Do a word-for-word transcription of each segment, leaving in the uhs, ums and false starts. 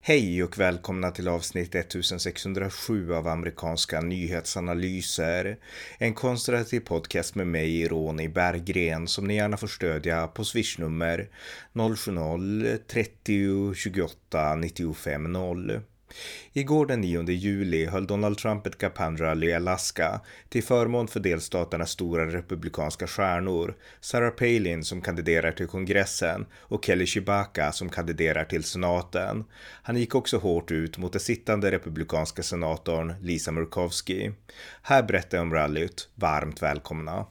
Hej och välkomna till avsnitt sextonhundrasju av amerikanska nyhetsanalyser. En konservativ podcast med mig, Ronny Berggren, som ni gärna får stödja på swishnummer noll sju noll trettio tjugoåtta nittiofem noll. Igår den nionde juli höll Donald Trump ett kampanjrally i Alaska till förmån för delstaternas stora republikanska stjärnor, Sarah Palin som kandiderar till kongressen och Kelly Tshibaka som kandiderar till senaten. Han gick också hårt ut mot den sittande republikanska senatorn Lisa Murkowski. Här berättar jag om rallyt. Varmt välkomna!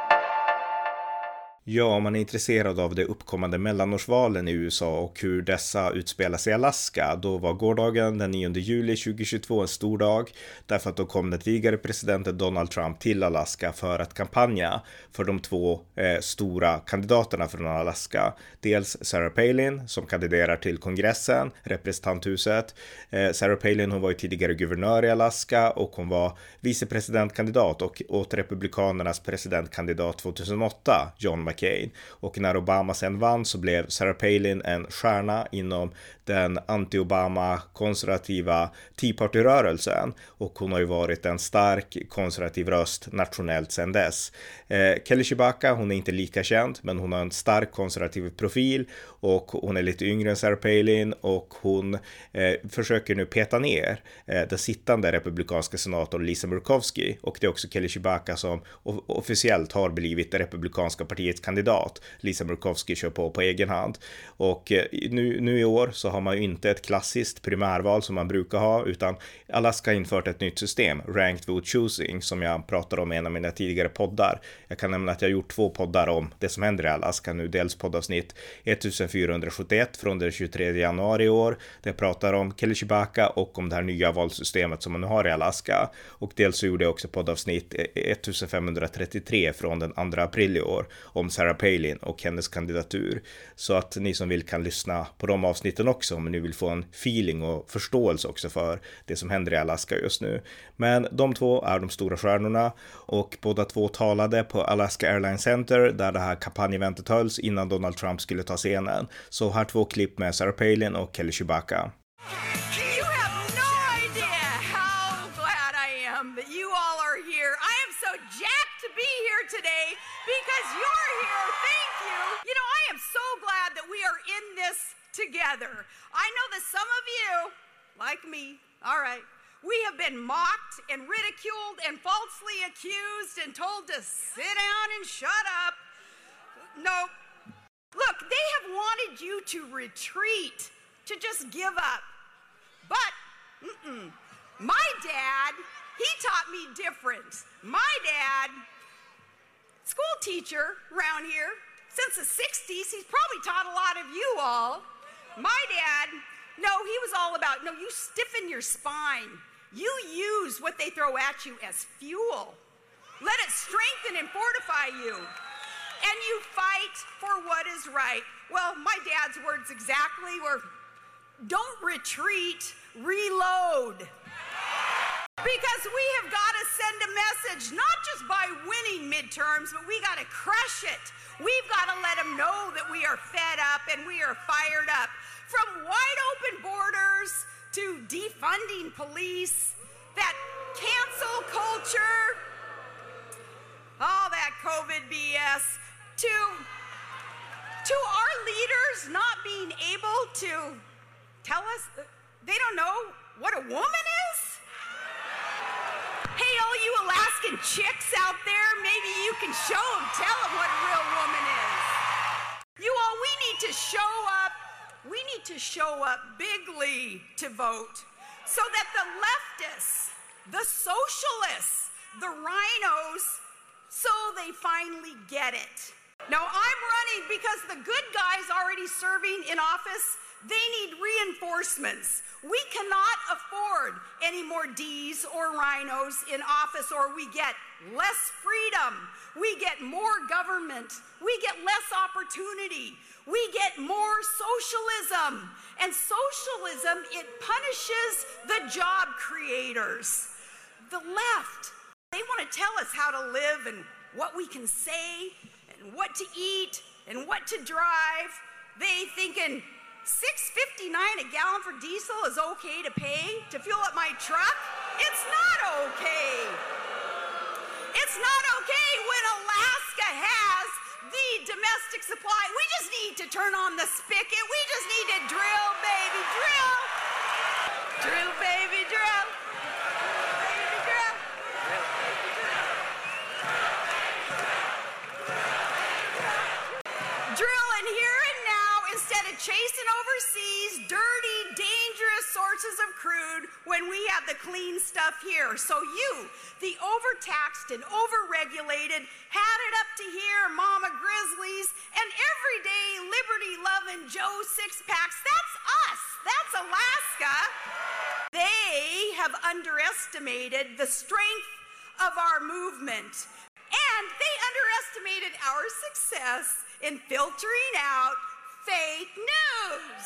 Ja, om man är intresserad av de uppkommande mellanårsvalen i U S A och hur dessa utspelas i Alaska, då var gårdagen den nionde juli tjugohundratjugotvå en stor dag, därför att då kom den tidigare presidenten Donald Trump till Alaska för att kampanja för de två eh, stora kandidaterna från Alaska. Dels Sarah Palin som kandiderar till kongressen, representanthuset. Eh, Sarah Palin, hon var ju tidigare guvernör i Alaska och hon var vicepresidentkandidat och åt republikanernas presidentkandidat tjugohundraåtta, John McCain. Och när Obama sen vann så blev Sarah Palin en stjärna inom den anti-Obama konservativa Tea Party-rörelsen, och hon har ju varit en stark konservativ röst nationellt sedan dess. Eh, Kelly Tshibaka, hon är inte lika känd, men hon har en stark konservativ profil och hon är lite yngre än Sarah Palin, och hon eh, försöker nu peta ner eh, den sittande republikanska senatorn Lisa Murkowski, och det är också Kelly Tshibaka som o- officiellt har blivit det republikanska partiets kandidat. Lisa Murkowski kör på på egen hand, och eh, nu, nu i år så har man ju inte ett klassiskt primärval som man brukar ha, utan Alaska har infört ett nytt system, Ranked Vote Choosing, som jag pratade om i en av mina tidigare poddar. Jag kan nämna att jag har gjort två poddar om det som händer i Alaska nu, dels poddavsnitt fjortonhundrasjuttioett från den tjugotredje januari i år, där jag pratar om Kelly Tshibaka och om det här nya valsystemet som man nu har i Alaska, och dels så gjorde jag också poddavsnitt femtonhundratrettiotre från den andra april i år om Sarah Palin och hennes kandidatur, så att ni som vill kan lyssna på de avsnitten också om ni vill få en feeling och förståelse också för det som händer i Alaska just nu. Men de två är de stora stjärnorna, och båda två talade på Alaska Airlines Center där det här kampanjeventet hölls innan Donald Trump skulle ta scenen. Så här två klipp med Sarah Palin och Kelly Tshibaka. Together. I know that some of you, like me, all right, we have been mocked and ridiculed and falsely accused and told to sit down and shut up. No, look, they have wanted you to retreat, to just give up. But mm-mm. My dad, he taught me different. My dad, school teacher around here, since the sixties, he's probably taught a lot of you all. My dad, no, he was all about, no, you stiffen your spine. You use what they throw at you as fuel. Let it strengthen and fortify you. And you fight for what is right. Well, my dad's words exactly were, don't retreat, reload. Because we have got to send a message, not just by winning midterms, but we got to crush it. We've got to let them know that we are fed up and we are fired up. From wide open borders to defunding police, that cancel culture, all that COVID B S, to, to our leaders not being able to tell us they don't know what a woman is. Hey, all you Alaskan chicks out there, maybe you can show them, tell them what a real woman is. You all, we need to show up, we need to show up bigly to vote so that the leftists, the socialists, the rhinos, so they finally get it. Now, I'm running because the good guys already serving in office, they need reinforcements. We cannot afford any more D's or rhinos in office, or we get less freedom. We get more government. We get less opportunity. We get more socialism. And socialism, it punishes the job creators. The left, they want to tell us how to live and what we can say and what to eat and what to drive. They thinking, six fifty-nine a gallon for diesel is okay to pay to fuel up my truck? It's not okay. It's not okay when Alaska has the domestic supply. We just need to turn on the spigot. We just need to drill, baby, drill. Drill, baby, drill. Baby, drill. Drill, baby, drill. Drill in here and now instead of chasing overseas dirty, dangerous sources of crude when we have the clean stuff here. So you, the overtaxed and overregulated, had it up to here, Mama Grizzlies, and everyday liberty-loving Joe Six-Packs, that's us. That's Alaska. They have underestimated the strength of our movement. And they underestimated our success in filtering out fake news.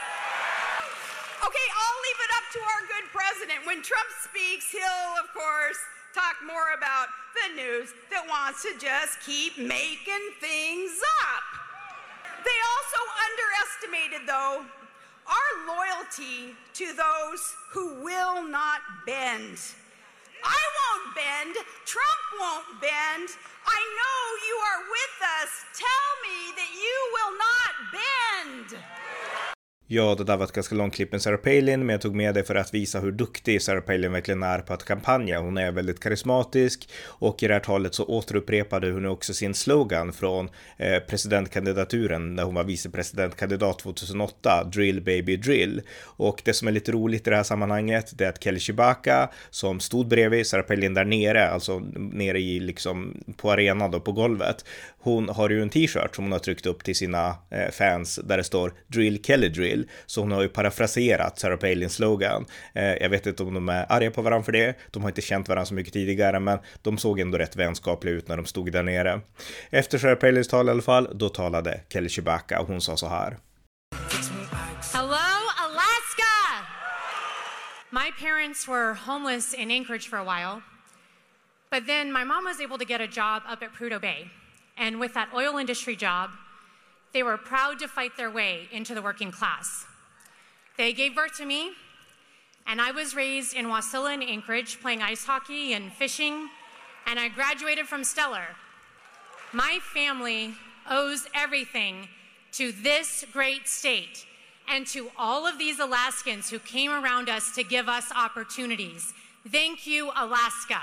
Okay, I'll leave it up to our good president. When Trump speaks, he'll, of course, talk more about the news that wants to just keep making things up. They also underestimated, though, our loyalty to those who will not bend. I won't bend. Trump won't bend. I know you are with us. Tell me that you will not bend. Ja, det där var ett ganska långt klipp med Sarah Palin, men jag tog med det för att visa hur duktig Sarah Palin verkligen är på att kampanja. Hon är väldigt karismatisk och i det här talet så återupprepade hon också sin slogan från eh, presidentkandidaturen när hon var vicepresidentkandidat tjugohundraåtta, Drill baby drill. Och det som är lite roligt i det här sammanhanget det är att Kelly Tshibaka som stod bredvid Sarah Palin där nere, alltså nere i liksom på arenan då, på golvet, hon har ju en t-shirt som hon har tryckt upp till sina eh, fans där det står Drill Kelly Drill. Så hon har ju parafraserat Sarah Palins slogan. Eh, jag vet inte om de är arga på varandra för det. De har inte känt varandra så mycket tidigare, men de såg ändå rätt vänskapliga ut när de stod där nere. Efter Sarah Palins tal i alla fall, då talade Kelly Tshibaka och hon sa så här. Hello, Alaska! My parents were homeless in Anchorage for a while, but then my mom was able to get a job up at Prudhoe Bay. And with that oil industry job, they were proud to fight their way into the working class. They gave birth to me, and I was raised in Wasilla and Anchorage playing ice hockey and fishing, and I graduated from Stellar. My family owes everything to this great state and to all of these Alaskans who came around us to give us opportunities. Thank you, Alaska.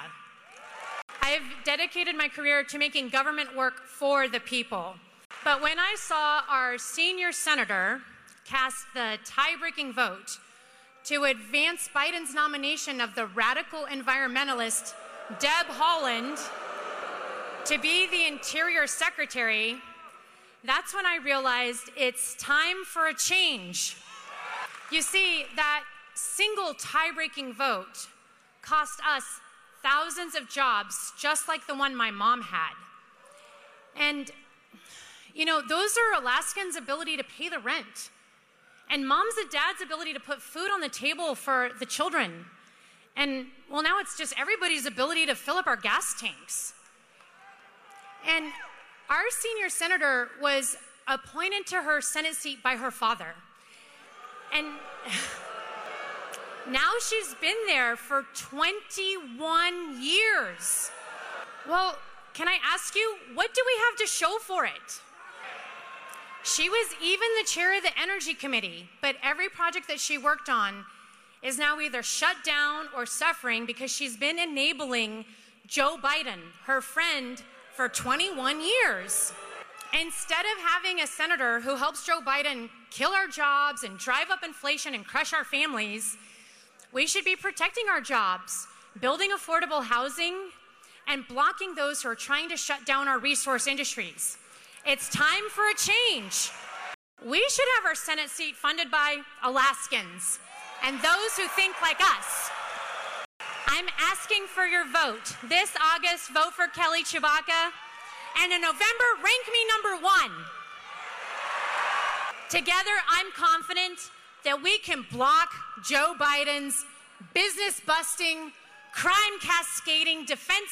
I have dedicated my career to making government work for the people. But when I saw our senior senator cast the tie-breaking vote to advance Biden's nomination of the radical environmentalist Deb Haaland to be the Interior Secretary, that's when I realized it's time for a change. You see, that single tie-breaking vote cost us thousands of jobs just like the one my mom had. And you know, those are Alaskans' ability to pay the rent. And moms and dads' ability to put food on the table for the children. And, well, now it's just everybody's ability to fill up our gas tanks. And our senior senator was appointed to her Senate seat by her father. And now she's been there for twenty-one years. Well, can I ask you, what do we have to show for it? She was even the chair of the Energy Committee, but every project that she worked on is now either shut down or suffering because she's been enabling Joe Biden, her friend, for twenty-one years. Instead of having a senator who helps Joe Biden kill our jobs and drive up inflation and crush our families, we should be protecting our jobs, building affordable housing, and blocking those who are trying to shut down our resource industries. It's time for a change. We should have our Senate seat funded by Alaskans and those who think like us. I'm asking for your vote. This August, vote for Kelly Tshibaka. And in November, rank me number one. Together, I'm confident that we can block Joe Biden's business-busting, crime-cascading,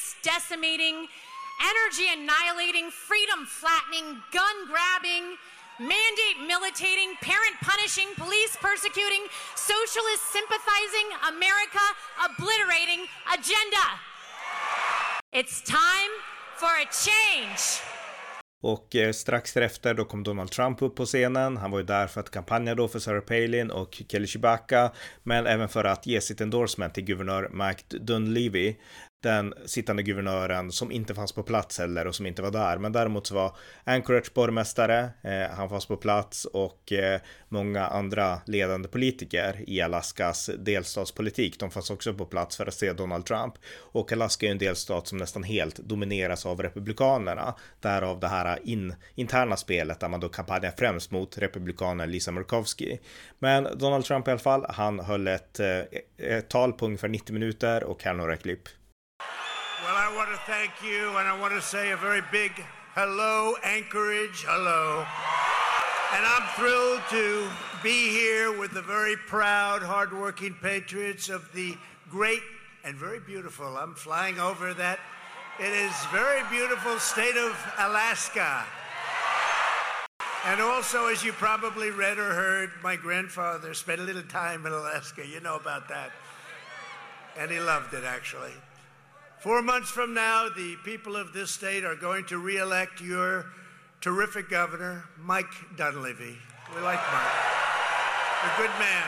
defense-decimating, energy-annihilating, freedom-flattening, gun-grabbing, mandate militating, parent punishing, police persecuting, socialist sympathizing, America obliterating agenda. It's time for a change. Och eh, strax därefter då kom Donald Trump upp på scenen. Han var ju där för att kampanja då för Sarah Palin och Kelly Tshibaka, men även för att ge sitt endorsement till guvernör Mike Dunleavy, den sittande guvernören som inte fanns på plats heller och som inte var där. Men däremot så var Anchorage borgmästare, eh, han fanns på plats, och eh, många andra ledande politiker i Alaskas delstatspolitik, de fanns också på plats för att se Donald Trump. Och Alaska är en delstat som nästan helt domineras av republikanerna, därav det här in, interna spelet där man då kampanjar främst mot republikanen Lisa Murkowski. Men Donald Trump i alla fall, han höll ett, ett tal på ungefär nittio minuter, och här några klipp. Well, I want to thank you, and I want to say a very big hello, Anchorage, hello. And I'm thrilled to be here with the very proud, hardworking patriots of the great and very beautiful, I'm flying over that, it is very beautiful state of Alaska. And also, as you probably read or heard, my grandfather spent a little time in Alaska, you know about that. And he loved it, actually. Four months from now, the people of this state are going to re-elect your terrific governor, Mike Dunleavy. We like Mike. A good man.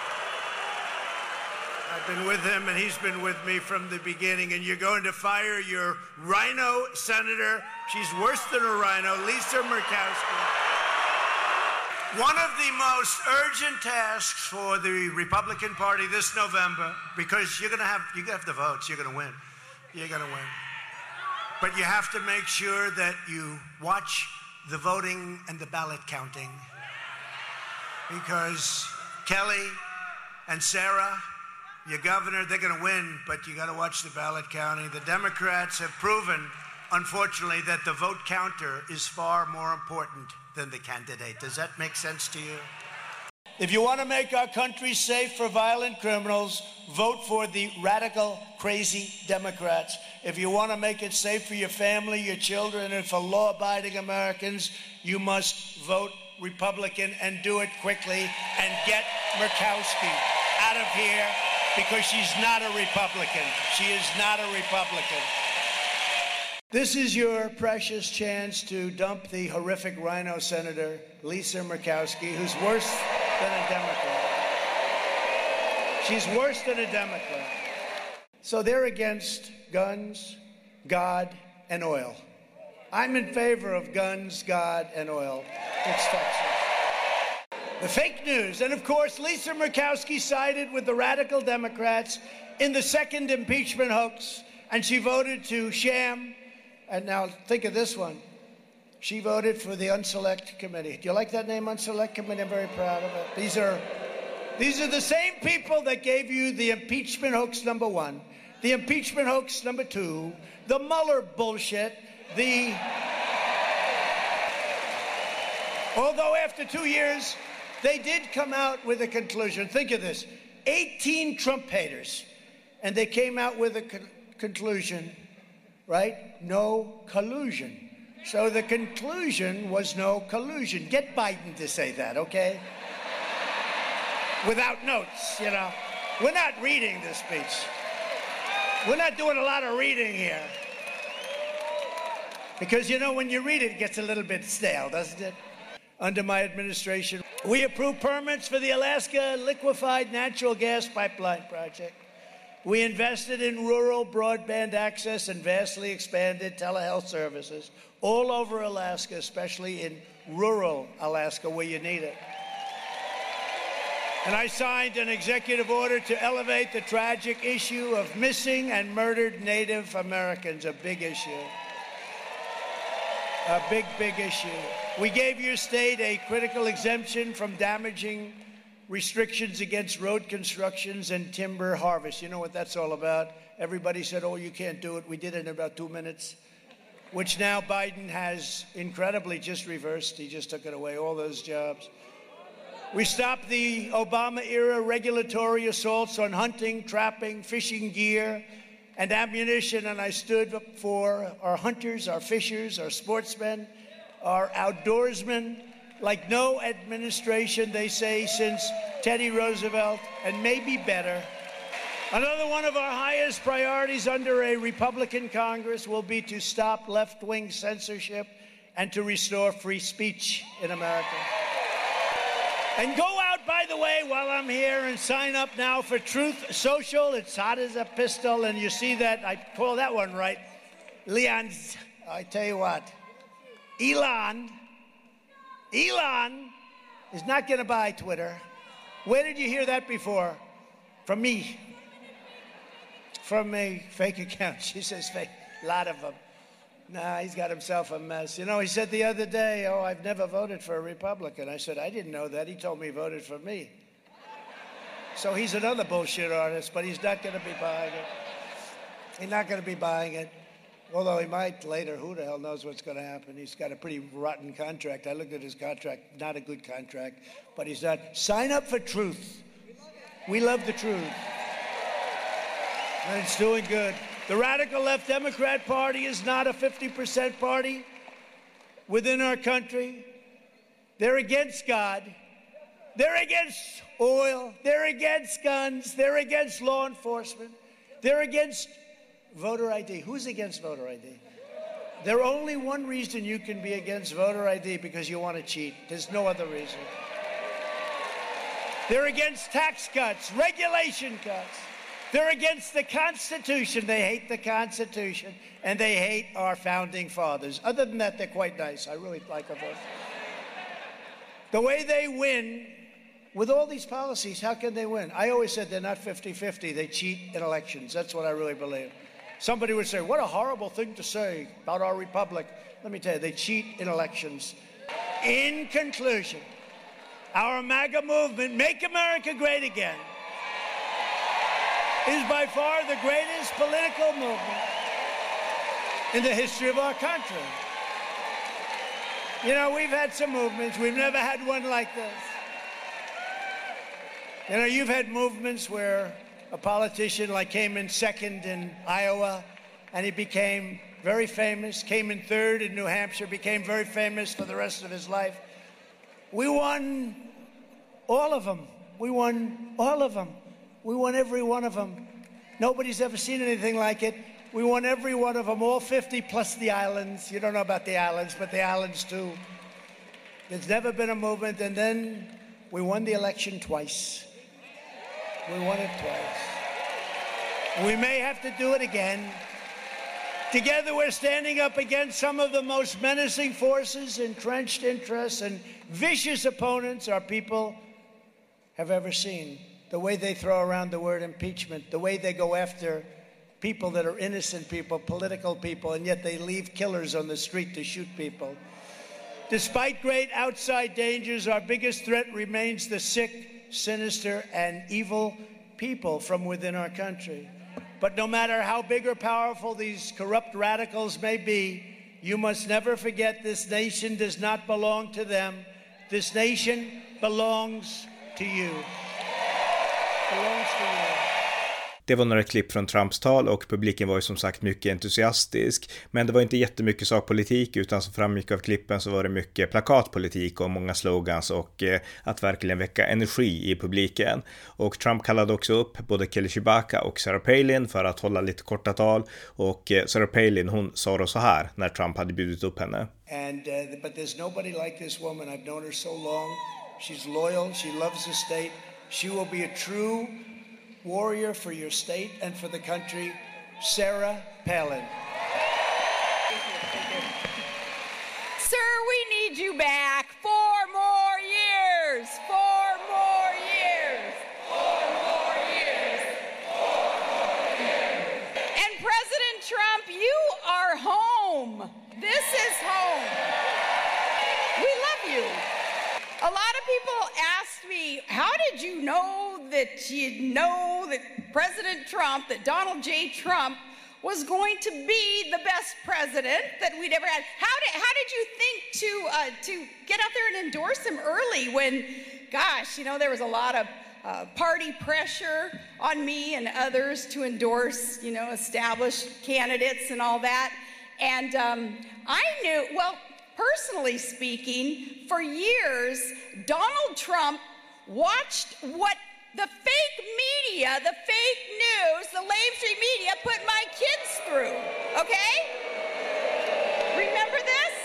I've been with him, and he's been with me from the beginning, and you're going to fire your rhino senator. She's worse than a rhino, Lisa Murkowski. One of the most urgent tasks for the Republican Party this November, because you're going to have, you have the votes, you're going to win. You're going to win. But you have to make sure that you watch the voting and the ballot counting. Because Kelly and Sarah, your governor, they're going to win, but you got to watch the ballot counting. The Democrats have proven, unfortunately, that the vote counter is far more important than the candidate. Does that make sense to you? If you want to make our country safe for violent criminals, vote for the radical, crazy Democrats. If you want to make it safe for your family, your children, and for law-abiding Americans, you must vote Republican, and do it quickly, and get Murkowski out of here, because she's not a Republican. She is not a Republican. This is your precious chance to dump the horrific rhino senator, Lisa Murkowski, who's worse than a Democrat. She's worse than a Democrat. So they're against guns, God, and oil. I'm in favor of guns, God, and oil. It's Texas. The fake news. And of course, Lisa Murkowski sided with the radical Democrats in the second impeachment hoax, and she voted to sham. And now think of this one. She voted for the Unselect Committee. Do you like that name, Unselect Committee? I'm very proud of it. These are, these are the same people that gave you the impeachment hoax number one, the impeachment hoax number two, the Mueller bullshit, the... Although after two years, they did come out with a conclusion. Think of this. eighteen Trump haters. And they came out with a con- conclusion, right? No collusion. So the conclusion was no collusion. Get Biden to say that, okay? Without notes, you know. We're not reading this speech. We're not doing a lot of reading here. Because, you know, when you read it, it gets a little bit stale, doesn't it? Under my administration, we approved permits for the Alaska Liquefied Natural Gas Pipeline project. We invested in rural broadband access and vastly expanded telehealth services all over Alaska, especially in rural Alaska where you need it. And I signed an executive order to elevate the tragic issue of missing and murdered Native Americans, a big issue. A big, big issue. We gave your state a critical exemption from damaging restrictions against road constructions and timber harvest. You know what that's all about? Everybody said, oh, you can't do it. We did it in about two minutes, which now Biden has incredibly just reversed. He just took it away, all those jobs. We stopped the Obama-era regulatory assaults on hunting, trapping, fishing gear, and ammunition, and I stood up for our hunters, our fishers, our sportsmen, our outdoorsmen. like no administration, they say, since Teddy Roosevelt, and maybe better. Another one of our highest priorities under a Republican Congress will be to stop left-wing censorship and to restore free speech in America. And go out, by the way, while I'm here, and sign up now for Truth Social. It's hot as a pistol, and you see that, I call that one right. Leon's, I tell you what, Elon, Elon is not going to buy Twitter. Where did you hear that before? From me. From a fake account. She says fake. A lot of them. Nah, he's got himself a mess. You know, he said the other day, oh, I've never voted for a Republican. I said, I didn't know that. He told me he voted for me. So he's another bullshit artist, but he's not going to be buying it. He's not going to be buying it. Although he might later. Who the hell knows what's going to happen? He's got a pretty rotten contract. I looked at his contract. Not a good contract. But he's not. Sign up for Truth. We love the truth. And it's doing good. The radical left Democrat Party is not a fifty percent party within our country. They're against God. They're against oil. They're against guns. They're against law enforcement. They're against voter I D. Who's against voter I D? There's only one reason you can be against voter I D, because you want to cheat. There's no other reason. They're against tax cuts, regulation cuts. They're against the Constitution. They hate the Constitution, and they hate our founding fathers. Other than that, they're quite nice. I really like them both. The way they win with all these policies, how can they win? I always said they're not fifty-fifty. They cheat in elections. That's what I really believe. Somebody would say, what a horrible thing to say about our republic. Let me tell you, they cheat in elections. In conclusion, our MAGA movement, Make America Great Again, is by far the greatest political movement in the history of our country. You know, we've had some movements. We've never had one like this. You know, you've had movements where a politician like came in second in Iowa, and he became very famous, came in third in New Hampshire, became very famous for the rest of his life. We won all of them. We won all of them. We won every one of them. Nobody's ever seen anything like it. We won every one of them, all fifty plus the islands. You don't know about the islands, but the islands too. There's never been a movement. And then we won the election twice. We won it twice. We may have to do it again. Together we're standing up against some of the most menacing forces, entrenched interests, and vicious opponents our people have ever seen. The way they throw around the word impeachment, the way they go after people that are innocent people, political people, and yet they leave killers on the street to shoot people. Despite great outside dangers, our biggest threat remains the sick, sinister, and evil people from within our country. But no matter how big or powerful these corrupt radicals may be, you must never forget this nation does not belong to them. This nation belongs to you. Det var några klipp från Trumps tal, och publiken var ju som sagt mycket entusiastisk. Men det var inte jättemycket sakpolitik, utan som framgick av klippen så var det mycket plakatpolitik och många slogans och eh, att verkligen väcka energi i publiken. Och Trump kallade också upp både Kelly Tshibaka och Sarah Palin för att hålla lite korta tal. Och eh, Sarah Palin, hon sa då så här när Trump hade bjudit upp henne. And, uh, but there's nobody like this woman. I've known her so long. She's loyal. She loves the state. She will be a true warrior for your state and for the country, Sarah Palin. Thank you, thank you. Sir, we need you back. Four more years. Four more years. Four more years. Four more years. And President Trump, you are home. This is home. We love you. A lot of people asked me, how did you know that you know that President Trump, that Donald J. Trump was going to be the best president that we'd ever had? How did, how did you think to, uh, to get out there and endorse him early when, gosh, you know, there was a lot of uh, party pressure on me and others to endorse, you know, established candidates and all that. And um, I knew, well, personally speaking, for years, Donald Trump watched what the fake media, the fake news, the lamestream media put my kids through, okay? Remember this?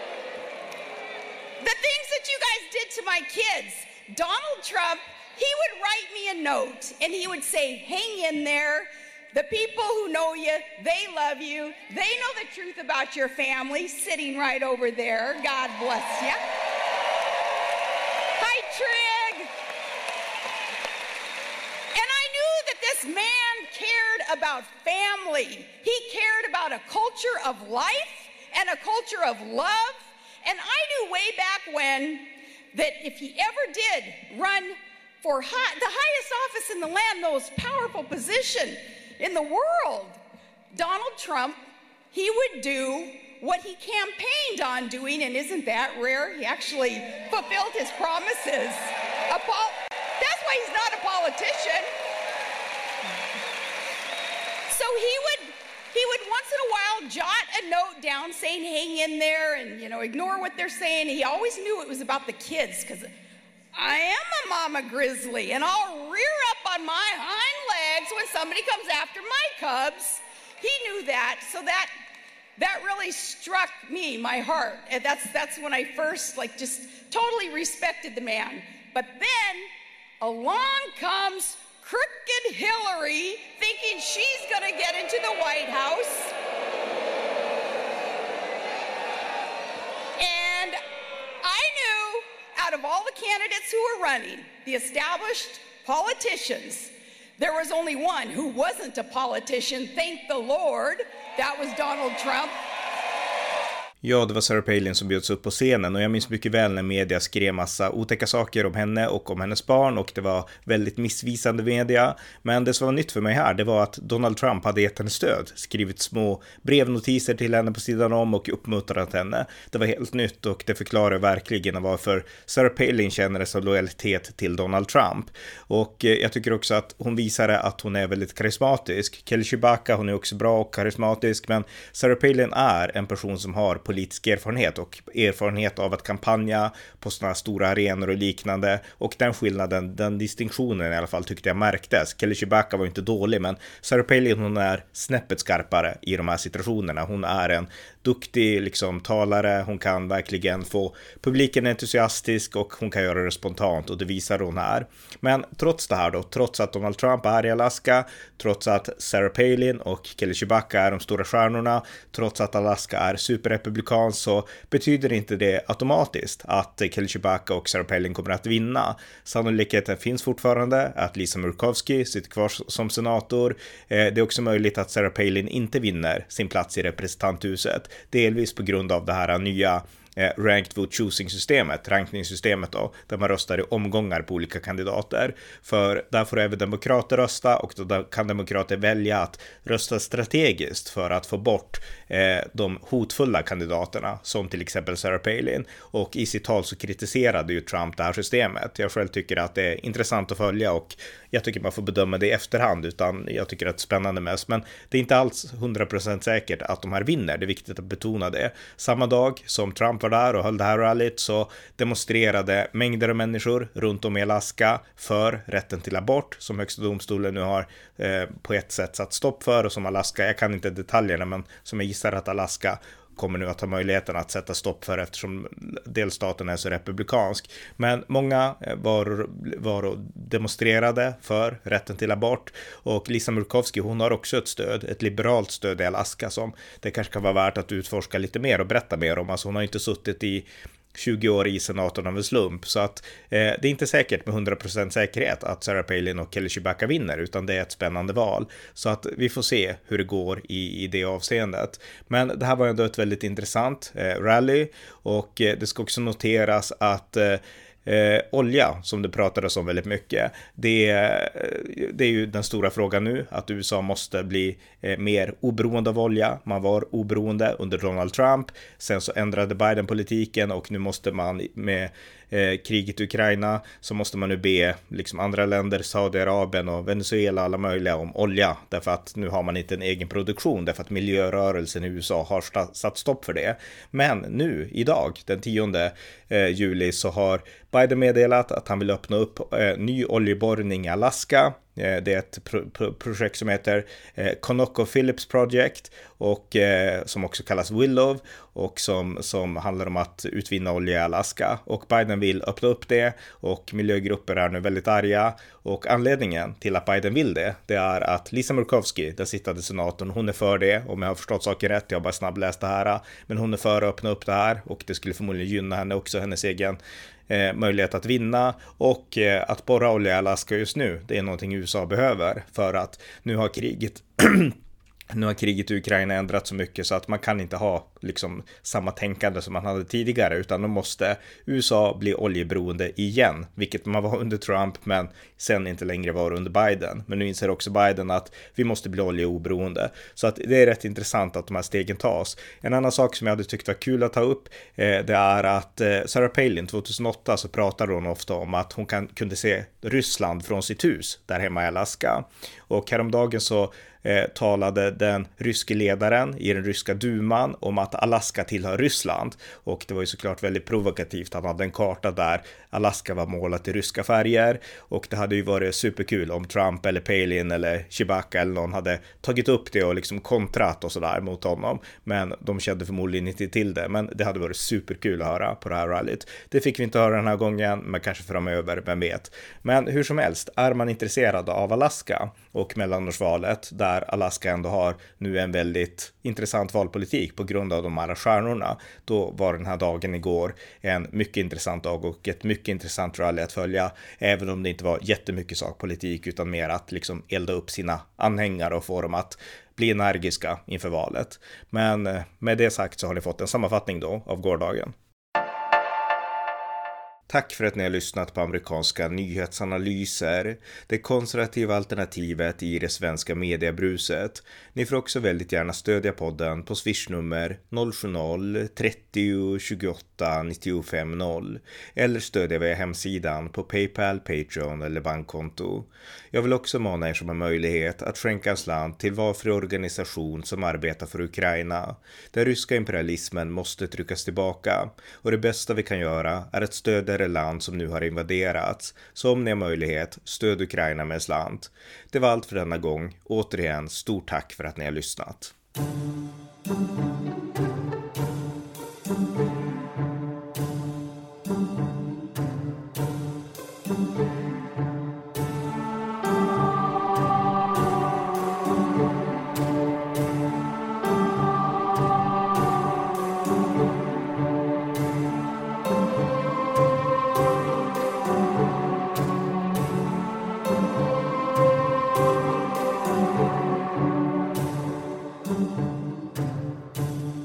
The things that you guys did to my kids. Donald Trump, he would write me a note and he would say, hang in there. The people who know you, they love you. They know the truth about your family, sitting right over there. God bless you. Hi, Trig. And I knew that this man cared about family. He cared about a culture of life and a culture of love. And I knew way back when that if he ever did run for high, the highest office in the land, the most powerful position in the world, Donald Trump, he would do what he campaigned on doing, and isn't that rare? He actually fulfilled his promises. A pol- That's why he's not a politician. So he would he would once in a while jot a note down saying, hang in there and, you know, ignore what they're saying. He always knew it was about the kids because I am a mama grizzly and I'll rear up on my hind legs when somebody comes after my cubs. He knew that. So that that really struck me, my heart. And that's that's when I first like just totally respected the man. But then along comes crooked Hillary, thinking she's going to get into the White House. And I knew out of all the candidates who were running, the established politicians, there was only one who wasn't a politician, thank the Lord. That was Donald Trump. Ja, det var Sarah Palin som bjöds upp på scenen och jag minns mycket väl när media skrev massa otäcka saker om henne och om hennes barn och det var väldigt missvisande media. Men det som var nytt för mig här, det var att Donald Trump hade gett henne stöd, skrivit små brevnotiser till henne på sidan om och uppmuntrat henne. Det var helt nytt och det förklarar verkligen varför Sarah Palin känner så lojalitet till Donald Trump. Och jag tycker också att hon visade att hon är väldigt karismatisk. Kelly Tshibaka, hon är också bra och karismatisk, men Sarah Palin är en person som har politisk erfarenhet och erfarenhet av att kampanja på sådana stora arenor och liknande, och den skillnaden, den distinktionen i alla fall tyckte jag märktes. Kelly Tshibaka var inte dålig, men Sarah Palin, hon är snäppet skarpare i de här situationerna. Hon är en duktig liksom talare, hon kan verkligen få publiken entusiastisk och hon kan göra det spontant och det visar hon här. Men trots det här då, trots att Donald Trump är i Alaska, trots att Sarah Palin och Kelly Tshibaka är de stora stjärnorna, trots att Alaska är superrepublikan, så betyder inte det automatiskt att Kelly Tshibaka och Sarah Palin kommer att vinna. Sannolikheten finns fortfarande att Lisa Murkowski sitter kvar som senator. Det är också möjligt att Sarah Palin inte vinner sin plats i representanthuset, delvis på grund av det här nya ranked vote choosing-systemet, rankningssystemet då, där man röstar i omgångar på olika kandidater. För där får även demokrater rösta och då kan demokrater välja att rösta strategiskt för att få bort eh, de hotfulla kandidaterna, som till exempel Sarah Palin. Och i sitt tal så kritiserade ju Trump det här systemet. Jag själv tycker att det är intressant att följa och jag tycker man får bedöma det i efterhand, utan jag tycker att det är spännande mest. Men det är inte alls hundra procent säkert att de här vinner, det är viktigt att betona det. Samma dag som Trump var där och höll det här rallyt så demonstrerade mängder av människor runt om i Alaska för rätten till abort, som högsta domstolen nu har eh, på ett sätt satt stopp för, och som Alaska, jag kan inte detaljerna, men som jag gissar att Alaska kommer nu att ha möjligheten att sätta stopp för eftersom delstaten är så republikansk. Men många var, var och demonstrerade för rätten till abort, och Lisa Murkowski, hon har också ett stöd, ett liberalt stöd i Alaska som det kanske kan vara värt att utforska lite mer och berätta mer om. Alltså hon har inte suttit i tjugo år i senaten av en slump, så att eh, det är inte säkert med hundra procent säkerhet att Sarah Palin och Kelly Tshibaka vinner, utan det är ett spännande val, så att vi får se hur det går i, i det avseendet. Men det här var ändå ett väldigt intressant eh, rally, och eh, det ska också noteras att eh, Eh, olja, som det pratades om väldigt mycket, det, det är ju den stora frågan nu, att U S A måste bli eh, mer oberoende av olja. Man var oberoende under Donald Trump, sen så ändrade Biden politiken och nu måste man med eh, kriget i Ukraina så måste man nu be liksom andra länder, Saudiarabien och Venezuela, alla möjliga, om olja, därför att nu har man inte en egen produktion, därför att miljörörelsen i U S A har satt stopp för det. Men nu, idag, den tionde eh, juli, så har Biden meddelat att han vill öppna upp eh, ny oljeborrning i Alaska. Eh, det är ett pro- pro- projekt som heter eh, ConocoPhillips Project och eh, som också kallas Willow och som, som handlar om att utvinna olja i Alaska. Och Biden vill öppna upp det och miljögrupper är nu väldigt arga. Och anledningen till att Biden vill det, det är att Lisa Murkowski, den sittande senatorn, hon är för det. Om jag har förstått saker rätt, jag har bara snabbläst det här. Men hon är för att öppna upp det här och det skulle förmodligen gynna henne också, hennes egen Eh, möjlighet att vinna och eh, att borra olja i Alaska just nu, det är någonting U S A behöver för att nu har kriget Nu har kriget i Ukraina ändrat så mycket så att man kan inte ha liksom samma tänkande som man hade tidigare, utan då måste U S A bli oljeberoende igen, vilket man var under Trump men sen inte längre var under Biden. Men nu inser också Biden att vi måste bli oljeoberoende. Så att det är rätt intressant att de här stegen tas. En annan sak som jag hade tyckt var kul att ta upp eh, det är att eh, Sarah Palin tjugohundraåtta så pratade hon ofta om att hon kan, kunde se Ryssland från sitt hus där hemma i Alaska. Och häromdagen så Eh, talade den ryske ledaren i den ryska duman om att Alaska tillhör Ryssland, och det var ju såklart väldigt provokativt. Han hade en karta där Alaska var målat i ryska färger, och det hade ju varit superkul om Trump eller Palin eller Chewbacca eller någon hade tagit upp det och liksom kontrat och sådär mot honom, men de kände förmodligen inte till det. Men det hade varit superkul att höra på det här rallyt. Det fick vi inte höra den här gången, men kanske framöver, vem vet. Men hur som helst, är man intresserad av Alaska och mellanårsvalet, där Alaska ändå har nu en väldigt intressant valpolitik på grund av de här stjärnorna, då var den här dagen igår en mycket intressant dag och ett mycket intressant rally att följa, även om det inte var jättemycket sakpolitik utan mer att liksom elda upp sina anhängare och få dem att bli energiska inför valet. Men med det sagt så har ni fått en sammanfattning då av gårdagen. Tack för att ni har lyssnat på amerikanska nyhetsanalyser, det konservativa alternativet i det svenska mediebruset. Ni får också väldigt gärna stödja podden på swishnummer noll sju noll trettio tjugoåtta nittiofem noll eller stödja via hemsidan på PayPal, Patreon eller bankkonto. Jag vill också mana er som har möjlighet att skänka en slant till varför organisation som arbetar för Ukraina. Den ryska imperialismen måste tryckas tillbaka, och det bästa vi kan göra är att stödja det land som nu har invaderats. Så om ni har möjlighet, stöd Ukraina med en slant. Det var allt för denna gång. Återigen, stort tack för att ni har lyssnat.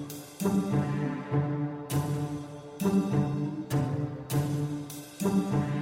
Thank you.